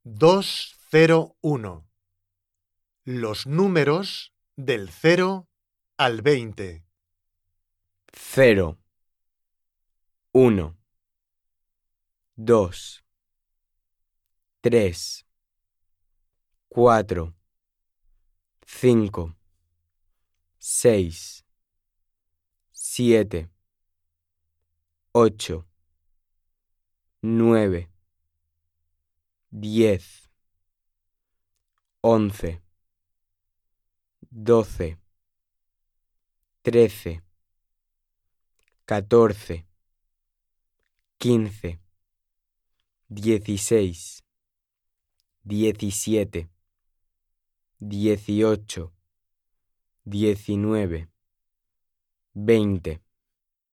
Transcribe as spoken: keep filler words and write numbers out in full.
dos cero uno. Los números del cero al veinte. Cero, uno, dos, tres, cuatro, cinco, seis, siete, ocho, nueve, diez, once, doce, trece, catorce, quince, dieciséis, diecisiete, dieciocho, diecinueve, veinte.